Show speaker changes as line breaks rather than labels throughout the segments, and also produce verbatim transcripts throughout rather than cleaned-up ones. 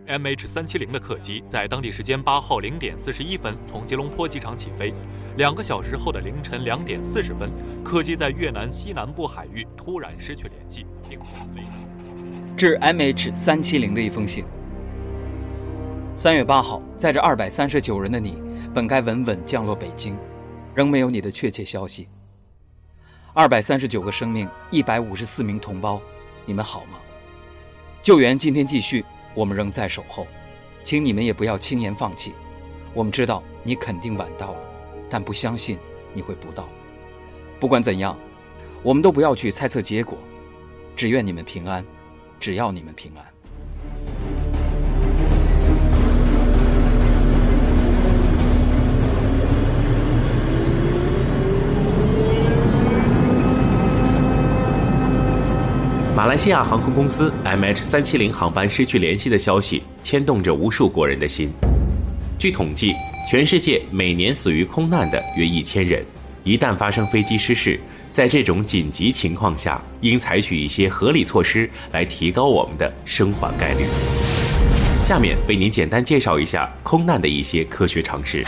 M H 三七零 的客机在当地时间八号零点四十一分从吉隆坡机场起飞，两个小时后的凌晨两点四十分，客机在越南西南部海域突然失去联系，并飞了。
致 M H 三七零 的一封信。三月八号，载着二百三十九人的你，本该稳稳降落北京，仍没有你的确切消息。二百三十九个生命，一百五十四名同胞，你们好吗？救援今天继续，我们仍在守候，请你们也不要轻言放弃。我们知道你肯定晚到了，但不相信你会不到。不管怎样，我们都不要去猜测结果，只愿你们平安，只要你们平安。
马来西亚航空公司 M H 三七零 航班失去联系的消息牵动着无数国人的心。据统计，全世界每年死于空难的约一千人。一旦发生飞机失事，在这种紧急情况下，应采取一些合理措施来提高我们的生还概率。下面为您简单介绍一下空难的一些科学常识。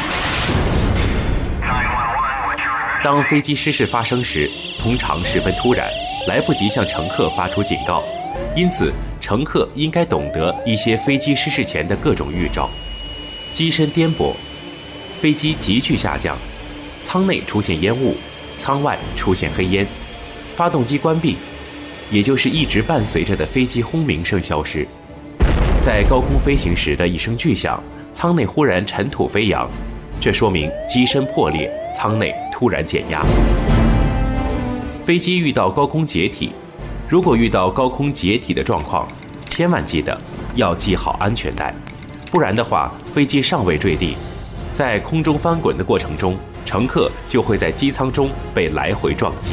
当飞机失事发生时，通常十分突然，来不及向乘客发出警告，因此乘客应该懂得一些飞机失事前的各种预兆。机身颠簸，飞机急剧下降，舱内出现烟雾，舱外出现黑烟，发动机关闭，也就是一直伴随着的飞机轰鸣声消失。在高空飞行时的一声巨响，舱内忽然尘土飞扬，这说明机身破裂，舱内突然减压。飞机遇到高空解体，如果遇到高空解体的状况，千万记得要系好安全带，不然的话，飞机尚未坠地，在空中翻滚的过程中，乘客就会在机舱中被来回撞击。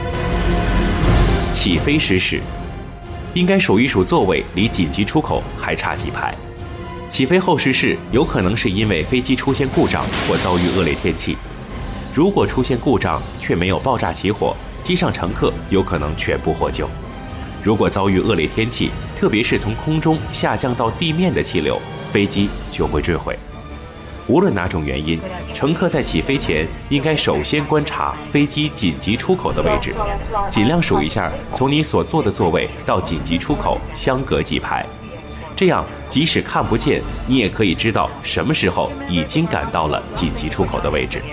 起飞失事，应该数一数座位离紧急出口还差几排。起飞后失事有可能是因为飞机出现故障或遭遇恶劣天气。如果出现故障却没有爆炸起火，机上乘客有可能全部获救。如果遭遇恶劣天气，特别是从空中下降到地面的气流，飞机就会坠毁。无论哪种原因，乘客在起飞前应该首先观察飞机紧急出口的位置，尽量数一下从你所坐的座位到紧急出口相隔几排，这样即使看不见，你也可以知道什么时候已经赶到了紧急出口的位置。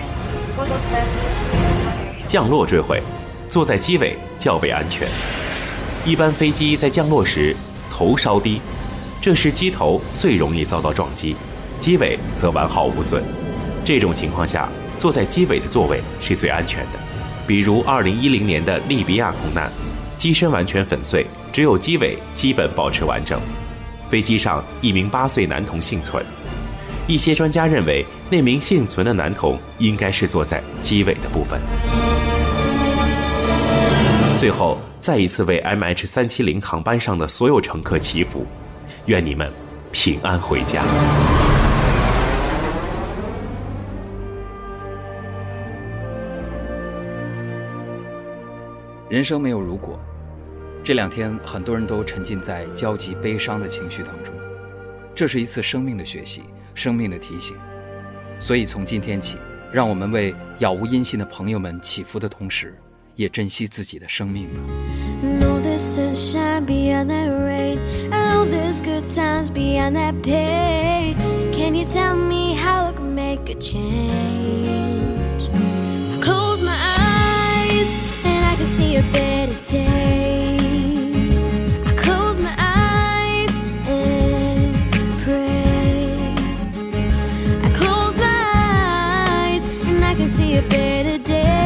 降落坠毁，坐在机尾较为安全。一般飞机在降落时头稍低，这时机头最容易遭到撞击，机尾则完好无损。这种情况下，坐在机尾的座位是最安全的。比如二零一零年的利比亚空难，机身完全粉碎，只有机尾基本保持完整。飞机上一名八岁男童幸存，一些专家认为那名幸存的男童应该是坐在机尾的部分。最后再一次为 M H 三七零 航班上的所有乘客祈福，愿你们平安回家。
人生没有如果，这两天很多人都沉浸在焦急悲伤的情绪当中，这是一次生命的学习，生命的提醒。所以从今天起，让我们为杳无音信的朋友们祈福的同时，也珍惜自己的生命吧。
Know there's sunshine beyond that rain, I know there's good times beyond that pain. Can you tell me how I can make a change? I close my eyes and I can see a better day. I close my eyes and pray. I close my eyes and I can see a better day.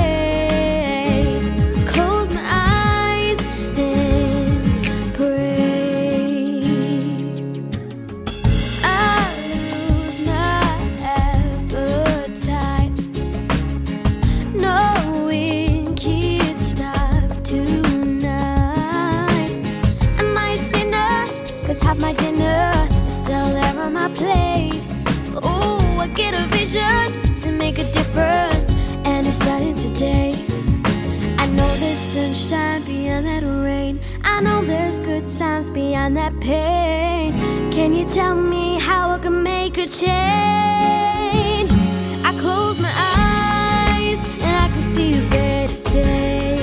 Have my dinner, it's still there on my plate. Oh, I get a vision to make a difference, and it's starting today. I know there's sunshine beyond that rain. I know there's good times beyond that pain. Can you tell me how I can make a change? I close my eyes and I can see a better day.